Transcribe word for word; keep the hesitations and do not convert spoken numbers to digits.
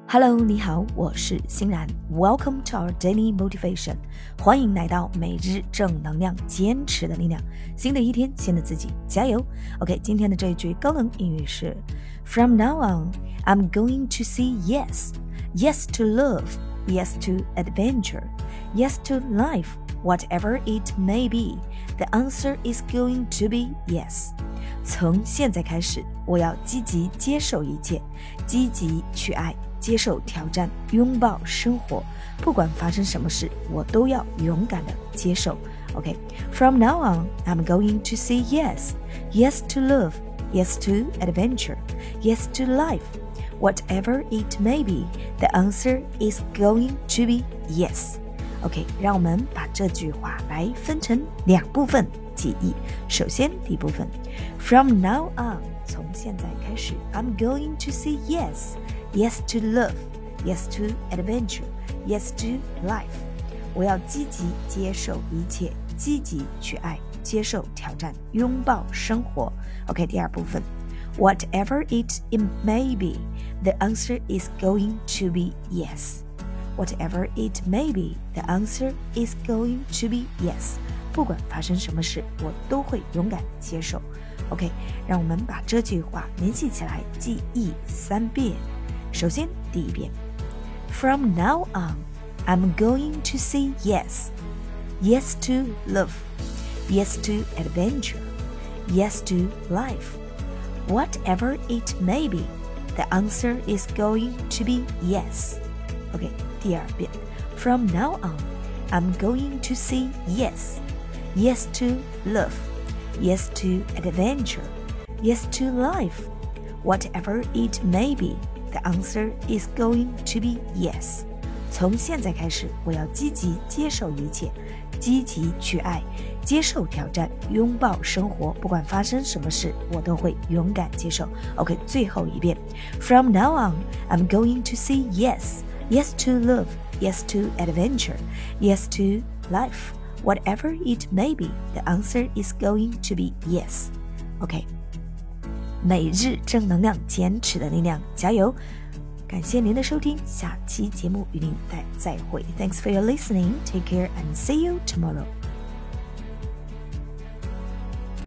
Hello， 你好，我是欣然。Welcome to our daily motivation， 欢迎来到每日正能量，坚持的力量。新的一天，新的自己，加油 ！OK， 今天的这一句高能英语是 From now on, I'm going to say yes. Yes to love. Yes to adventure. Yes to life. Whatever it may be, the answer is going to be yes. 从现在开始，我要积极接受一切，积极去爱，接受挑战，拥抱生活。不管发生什么事，我都要勇敢地接受。OK, from now on, I'm going to say yes. Yes to love. Yes to adventure. Yes to life. Whatever it may be, the answer is going to be yes. OK, 让我们把这句话来分成两部分记忆。首先，第一部分 From now on, 从现在开始 I'm going to say yes. Yes to love. Yes to adventure. Yes to life. 我要积极接受一切，积极去爱，接受挑战，拥抱生活。OK, 第二部分 Whatever it may be, the answer is going to be yes.Whatever it may be, the answer is going to be yes. 不管发生什么事，我都会勇敢接受。OK, 让我们把这句话联系起来，记忆三遍。首先，第一遍 From now on, I'm going to say yes. Yes to love. Yes to adventure. Yes to life. Whatever it may be, the answer is going to be yes.OK, 第二遍 From now on, I'm going to say yes. Yes to love. Yes to adventure. Yes to life. Whatever it may be, the answer is going to be yes. 从现在开始，我要积极接受一切，积极去爱，接受挑战，拥抱生活。不管发生什么事，我都会勇敢接受。OK, 最后一遍 From now on, I'm going to say yes.Yes to love, yes to adventure, yes to life. Whatever it may be, the answer is going to be yes. OK, 每日正能量，坚持的力量，加油！感谢您的收听，下期节目与您再会。Thanks for your listening. Take care and see you tomorrow.